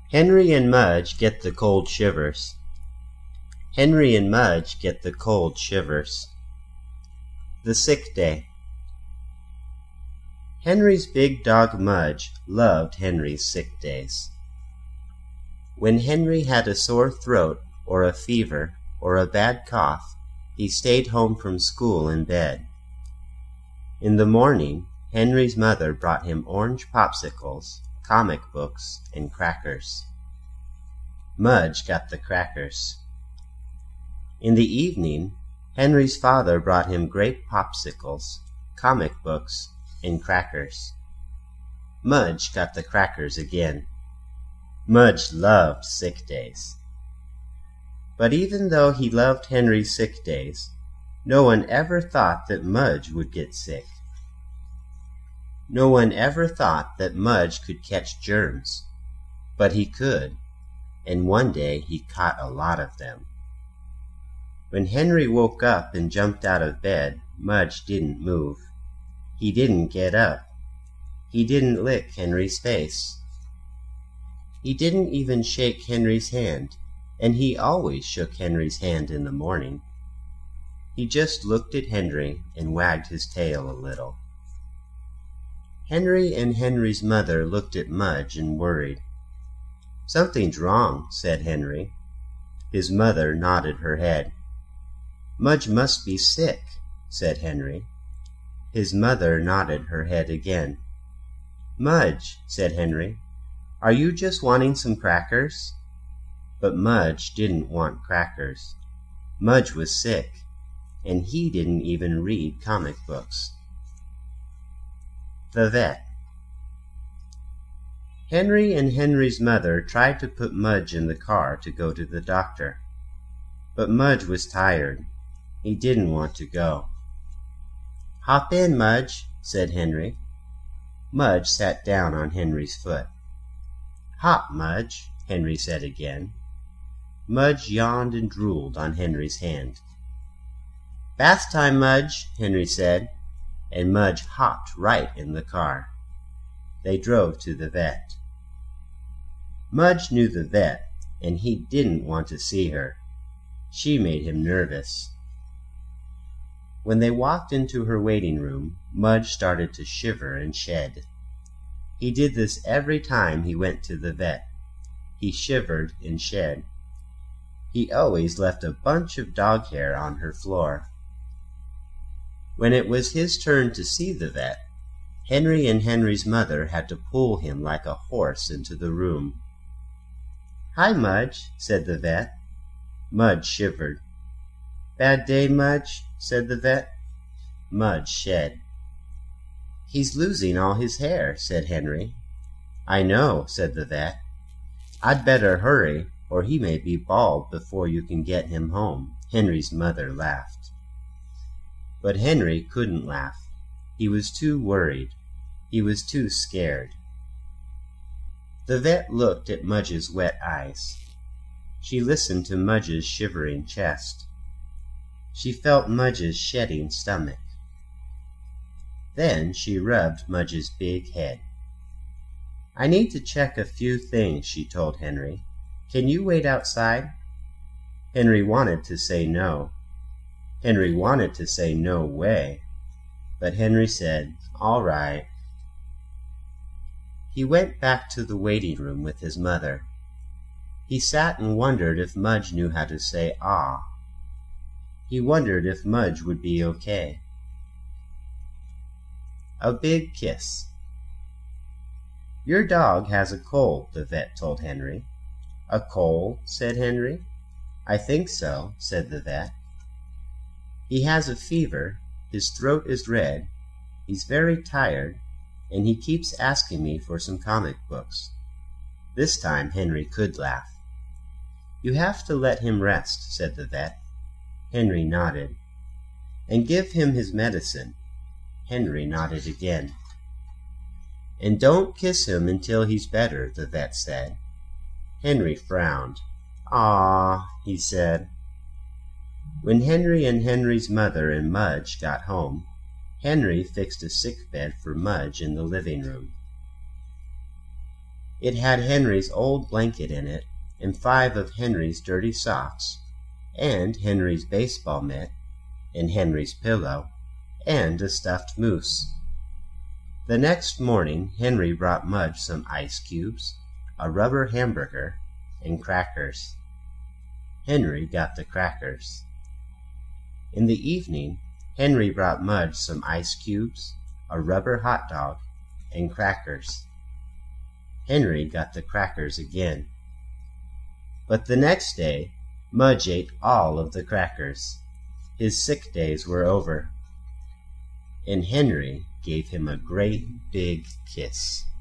Henry and Mudge get the cold shivers. Henry and Mudge get the cold shivers. The sick day. Henry's big dog Mudge loved Henry's sick days. When Henry had a sore throat or a fever or a bad cough, he stayed home from school in bed. In the morning, Henry's mother brought him orange popsicles, comic books, and crackers. Mudge got the crackers. In the evening, Henry's father brought him grape popsicles, comic books, and crackers. Mudge got the crackers again. Mudge loved sick days. But even though he loved Henry's sick days, no one ever thought that Mudge would get sick. No one ever thought that Mudge could catch germs, but he could, and one day he caught a lot of them. When Henry woke up and jumped out of bed, Mudge didn't move. He didn't get up. He didn't lick Henry's face. He didn't even shake Henry's hand, and he always shook Henry's hand in the morning. He just looked at Henry and wagged his tail a little. Henry and Henry's mother looked at Mudge and worried. "Something's wrong," said Henry. His mother nodded her head. "Mudge must be sick," said Henry. His mother nodded her head again. "Mudge," said Henry, "are you just wanting some crackers?" But Mudge didn't want crackers. Mudge was sick, and he didn't even read comic books. The vet. Henry and Henry's mother tried to put Mudge in the car to go to the doctor. But Mudge was tired. He didn't want to go. "Hop in, Mudge," said Henry. Mudge sat down on Henry's foot. "Hop, Mudge," Henry said again. Mudge yawned and drooled on Henry's hand. "Bath time, Mudge," Henry said, and Mudge hopped right in the car. They drove to the vet. Mudge knew the vet, and he didn't want to see her. She made him nervous. When they walked into her waiting room, Mudge started to shiver and shed. He did this every time he went to the vet. He shivered and shed. He always left a bunch of dog hair on her floor. When it was his turn to see the vet, Henry and Henry's mother had to pull him like a horse into the room. "Hi, Mudge," said the vet. Mudge shivered. "Bad day, Mudge?" said the vet. Mudge shed. "He's losing all his hair," said Henry. "I know," said the vet. "I'd better hurry, or he may be bald before you can get him home." Henry's mother laughed. But Henry couldn't laugh. He was too worried. He was too scared. The vet looked at Mudge's wet eyes. She listened to Mudge's shivering chest. She felt Mudge's shedding stomach. Then she rubbed Mudge's big head. "I need to check a few things," she told Henry. "Can you wait outside?" Henry wanted to say no. Henry wanted to say no way. But Henry said, "All right." He went back to the waiting room with his mother. He sat and wondered if Mudge knew how to say "ah." He wondered if Mudge would be okay. A big kiss. "Your dog has a cold," the vet told Henry. "A cold?" said Henry. "I think so," said the vet. "He has a fever, his throat is red, he's very tired, and he keeps asking me for some comic books." This time Henry could laugh. "You have to let him rest," said the vet. Henry nodded. "And give him his medicine." Henry nodded again. "And don't kiss him until he's better," the vet said. Henry frowned. "Aw," he said. When Henry and Henry's mother and Mudge got home, Henry fixed a sick bed for Mudge in the living room. It had Henry's old blanket in it, and 5 of Henry's dirty socks, and Henry's baseball mitt, and Henry's pillow, and a stuffed moose. The next morning Henry brought Mudge some ice cubes, a rubber hamburger, and crackers. Henry got the crackers. In the evening Henry brought Mudge some ice cubes, a rubber hot dog, and crackers. Henry got the crackers again. But the next day Mudge ate all of the crackers. His sick days were over, and Henry gave him a great big kiss.